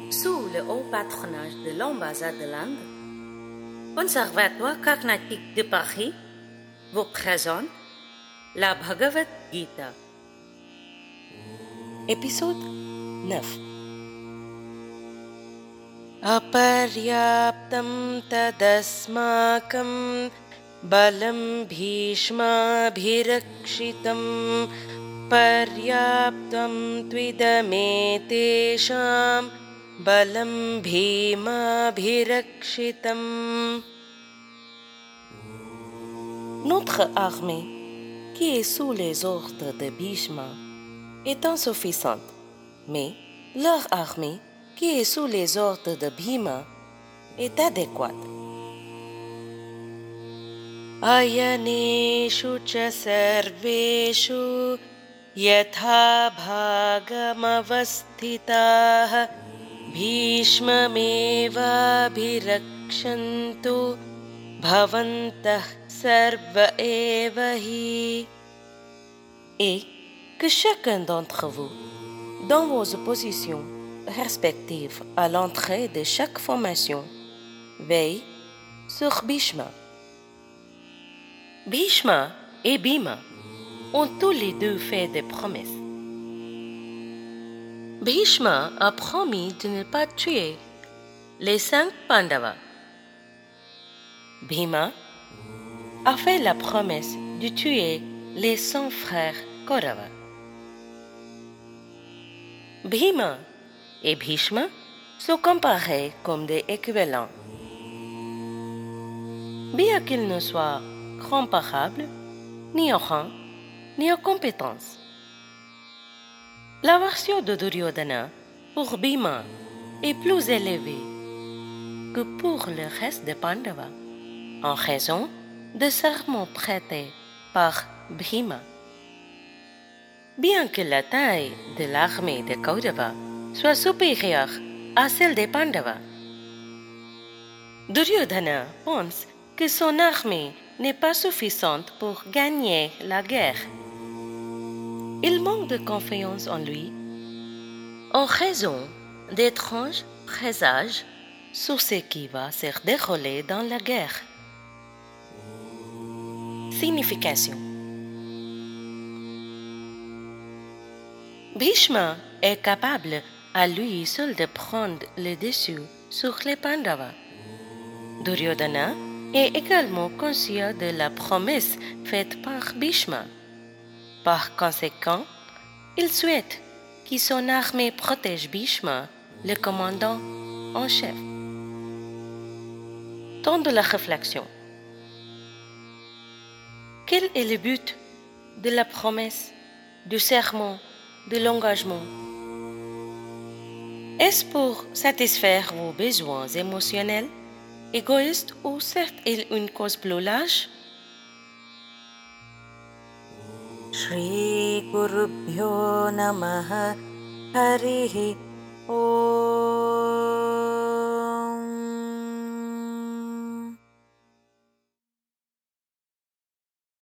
sous le haut patronage de l'ambassade de l'Inde, Conservatoire Carnatique de Paris vous présente la Bhagavad Gita. Épisode 9. Aparyaptam tadasmakam balam bhishmabhirakshitam paryaptam tvidame-tesham balam bhimabhirakshitam. Notre armée, qui est sous les ordres de Bhishma, est insuffisante, mais leur armée, qui est sous les ordres de Bhima, est adéquate. Ayaneshu cha sarveshu yatha bhagamavasthitaah bhishmameva bhirakshantu bhavantah sarva eva hi. Et que chacun d'entre vous, dans vos positions respectives à l'entrée de chaque formation, veille sur Bhishma. Bhishma et Bhima ont tous les deux fait des promesses. Bhishma a promis de ne pas tuer les 5 Pandavas. Bhima a fait la promesse de tuer les 100 frères Kaurava. Bhima et Bhishma sont comparés comme des équivalents. Bien qu'ils ne soient comparables ni en rang ni en compétences. La version de Duryodhana pour Bhima est plus élevée que pour le reste des Pandavas en raison de serments prêtés par Bhima. Bien que la taille de l'armée de Kaurava soit supérieure à celle des Pandavas, Duryodhana pense que son armée n'est pas suffisante pour gagner la guerre. Il manque de confiance en lui en raison d'étranges présages sur ce qui va se dérouler dans la guerre. Signification. Bhishma est capable à lui seul de prendre le dessus sur les Pandavas. Duryodhana est également conscient de la promesse faite par Bhishma. Par conséquent, il souhaite que son armée protège Bhishma, le commandant en chef. Temps de la réflexion. Quel est le but de la promesse, du serment, de l'engagement? Est-ce pour satisfaire vos besoins émotionnels, égoïstes ou certes une cause plus large? Shri Guru-bhyo-namaha. Harihi Om.